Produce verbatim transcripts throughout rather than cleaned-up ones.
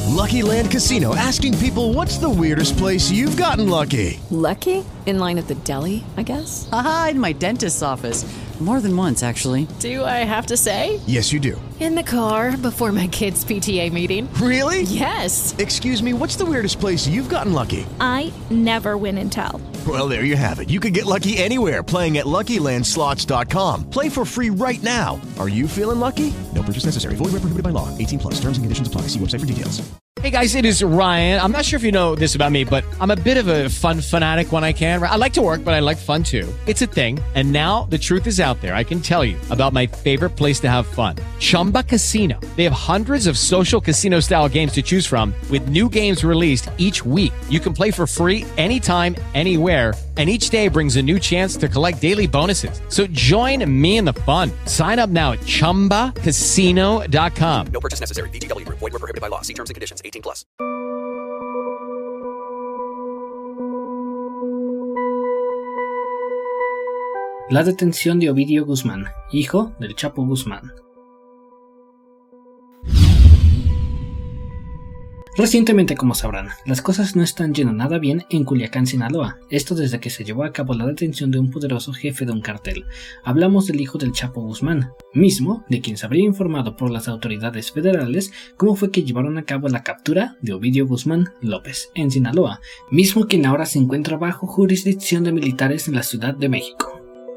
Lucky Land Casino, asking people, what's the weirdest place you've gotten lucky? Lucky? In line at the deli, I guess? Aha, in my dentist's office. More than once, actually. Do I have to say? Yes, you do. In the car before my kids' P T A meeting. Really? Yes. Excuse me, what's the weirdest place you've gotten lucky? I never win and tell. Well, there you have it. You can get lucky anywhere, playing at Lucky Land Slots dot com. Play for free right now. Are you feeling lucky? No purchase necessary. Void where prohibited by law. eighteen plus. Terms and conditions apply. See website for details. Hey guys, it is Ryan. I'm not sure if you know this about me, but I'm a bit of a fun fanatic when I can. I like to work, but I like fun too. It's a thing. And now the truth is out there. I can tell you about my favorite place to have fun. Chumba Casino. They have hundreds of social casino style games to choose from with new games released each week. You can play for free anytime, anywhere. And each day brings a new chance to collect daily bonuses. So join me in the fun. Sign up now at chumba casino dot com. No purchase necessary. V G W Group. Void where prohibited by law. See terms and conditions. eighteen plus. La detención de Ovidio Guzmán, hijo del Chapo Guzmán. Recientemente, como sabrán, las cosas no están yendo nada bien en Culiacán, Sinaloa, esto desde que se llevó a cabo la detención de un poderoso jefe de un cartel. Hablamos del hijo del Chapo Guzmán, mismo de quien se habría informado por las autoridades federales cómo fue que llevaron a cabo la captura de Ovidio Guzmán López en Sinaloa, mismo quien ahora se encuentra bajo jurisdicción de militares en la Ciudad de México.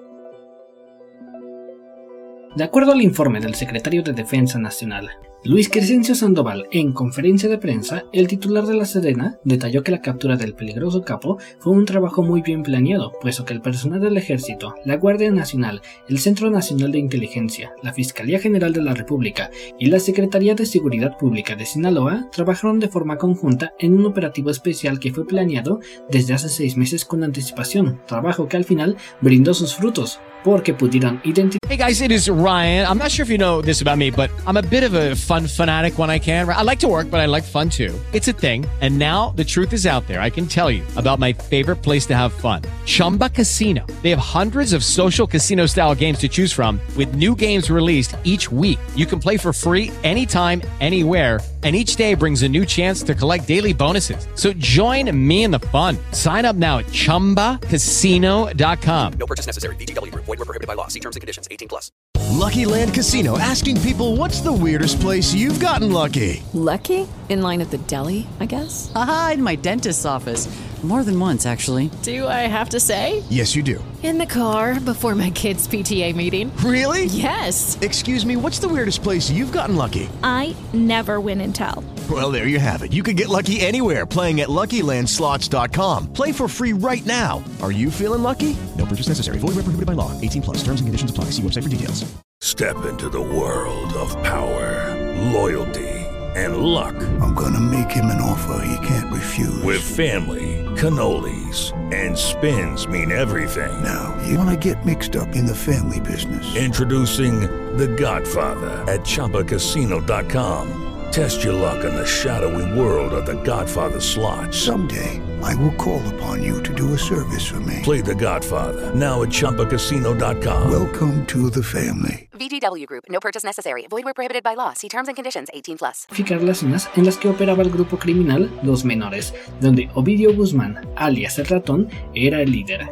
De acuerdo al informe del secretario de Defensa Nacional, Luis Crescencio Sandoval, en conferencia de prensa, el titular de la Sedena detalló que la captura del peligroso capo fue un trabajo muy bien planeado, puesto que el personal del Ejército, la Guardia Nacional, el Centro Nacional de Inteligencia, la Fiscalía General de la República y la Secretaría de Seguridad Pública de Sinaloa trabajaron de forma conjunta en un operativo especial que fue planeado desde hace seis meses con anticipación, trabajo que al final brindó sus frutos, porque pudieron identificar. Hey guys, it is Ryan. I'm not sure if you know this about me, but I'm a bit of a fun fanatic when I can. I like to work, but I like fun too. It's a thing. And now the truth is out there. I can tell you about my favorite place to have fun. Chumba Casino. They have hundreds of social casino style games to choose from with new games released each week. You can play for free anytime, anywhere. And each day brings a new chance to collect daily bonuses. So join me in the fun. Sign up now at chumba casino dot com. No purchase necessary. V G W Group. Void where prohibited by law. See terms and conditions. eighteen plus. Lucky Land Casino, asking people, what's the weirdest place you've gotten lucky? Lucky? In line at the deli, I guess? Aha, in my dentist's office. More than once, actually. Do I have to say? Yes, you do. In the car before my kids' P T A meeting. Really? Yes. Excuse me, what's the weirdest place you've gotten lucky? I never win and tell. Well, there you have it. You can get lucky anywhere, playing at Lucky Land Slots dot com. Play for free right now. Are you feeling lucky? No purchase necessary. Void where prohibited by law. eighteen plus. Terms and conditions apply. See website for details. Step into the world of power, loyalty, and luck. I'm gonna make him an offer he can't refuse. With family, cannolis, and spins mean everything. Now, you wanna get mixed up in the family business. Introducing The Godfather at Chumba Casino dot com. Test your luck in the shadowy world of The Godfather slot. Someday, I will call upon you to do a service for me. Play The Godfather, now at Chumba Casino dot com. Welcome to the family. V G W Group. No purchase necessary. Void where prohibited by law. See terms and conditions. eighteen plus. Las zonas en las que operaba el grupo criminal Los Menores, donde Ovidio Guzmán, alias el Ratón, era el líder.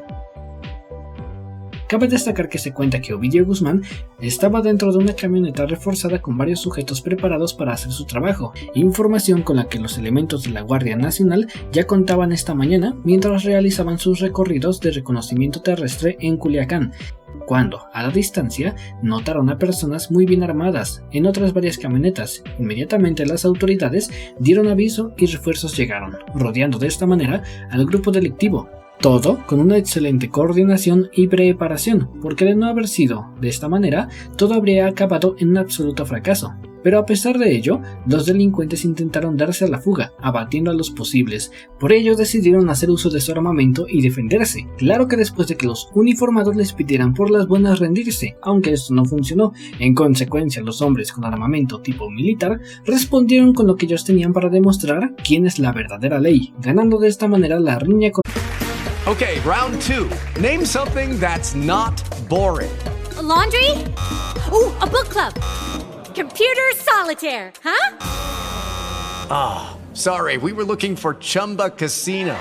Cabe destacar que se cuenta que Ovidio Guzmán estaba dentro de una camioneta reforzada con varios sujetos preparados para hacer su trabajo, información con la que los elementos de la Guardia Nacional ya contaban esta mañana mientras realizaban sus recorridos de reconocimiento terrestre en Culiacán, cuando, a la distancia, notaron a personas muy bien armadas en otras varias camionetas. Inmediatamente las autoridades dieron aviso y refuerzos llegaron, rodeando de esta manera al grupo delictivo. Todo con una excelente coordinación y preparación, porque de no haber sido de esta manera, todo habría acabado en un absoluto fracaso. Pero a pesar de ello, los delincuentes intentaron darse a la fuga, abatiendo a los posibles. Por ello decidieron hacer uso de su armamento y defenderse. Claro que después de que los uniformados les pidieran por las buenas rendirse, aunque esto no funcionó. En consecuencia, los hombres con armamento tipo militar respondieron con lo que ellos tenían para demostrar quién es la verdadera ley, ganando de esta manera la riña con... Okay, round two. Name something that's not boring. A laundry? Ooh, a book club. Computer solitaire, huh? Ah, oh, sorry, we were looking for Chumba Casino.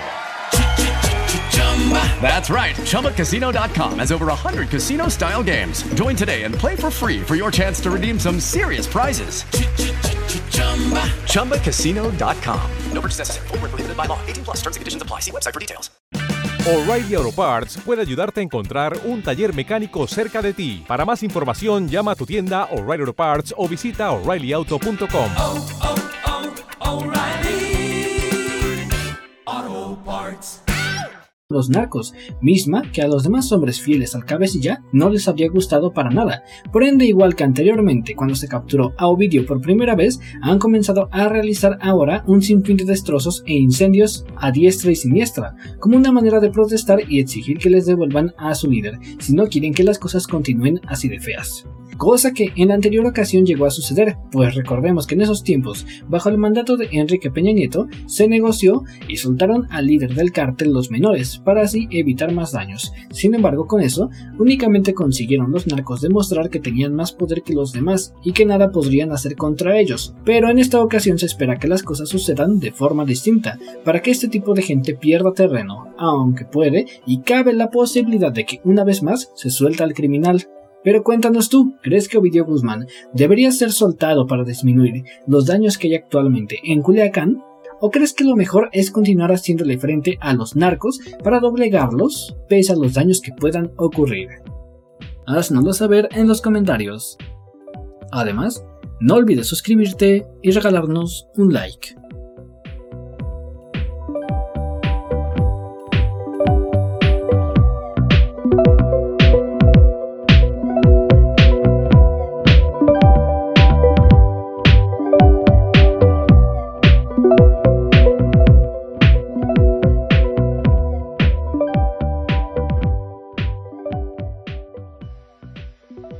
That's right, Chumba Casino dot com has over one hundred casino-style games. Join today and play for free for your chance to redeem some serious prizes. Chumba Casino dot com. No purchase necessary. Void where prohibited by law. eighteen plus. Terms and conditions apply. See website for details. O'Reilly Auto Parts puede ayudarte a encontrar un taller mecánico cerca de ti. Para más información, llama a tu tienda O'Reilly Auto Parts o visita O'Reilly Auto punto com. Oh, oh, oh, O'Reilly Auto Parts. Los Narcos, misma que a los demás hombres fieles al cabecilla no les habría gustado para nada. Por ende, igual que anteriormente cuando se capturó a Ovidio por primera vez, han comenzado a realizar ahora un sinfín de destrozos e incendios a diestra y siniestra, como una manera de protestar y exigir que les devuelvan a su líder, si no quieren que las cosas continúen así de feas. Cosa que en la anterior ocasión llegó a suceder, pues recordemos que en esos tiempos, bajo el mandato de Enrique Peña Nieto, se negoció y soltaron al líder del cártel los menores, para así evitar más daños. Sin embargo, con eso, únicamente consiguieron los narcos demostrar que tenían más poder que los demás y que nada podrían hacer contra ellos. Pero en esta ocasión se espera que las cosas sucedan de forma distinta, para que este tipo de gente pierda terreno, aunque puede y cabe la posibilidad de que una vez más se suelta al criminal. Pero cuéntanos tú, ¿crees que Ovidio Guzmán debería ser soltado para disminuir los daños que hay actualmente en Culiacán? ¿O crees que lo mejor es continuar haciéndole frente a los narcos para doblegarlos, pese a los daños que puedan ocurrir? Haznoslo saber en los comentarios. Además, no olvides suscribirte y regalarnos un like.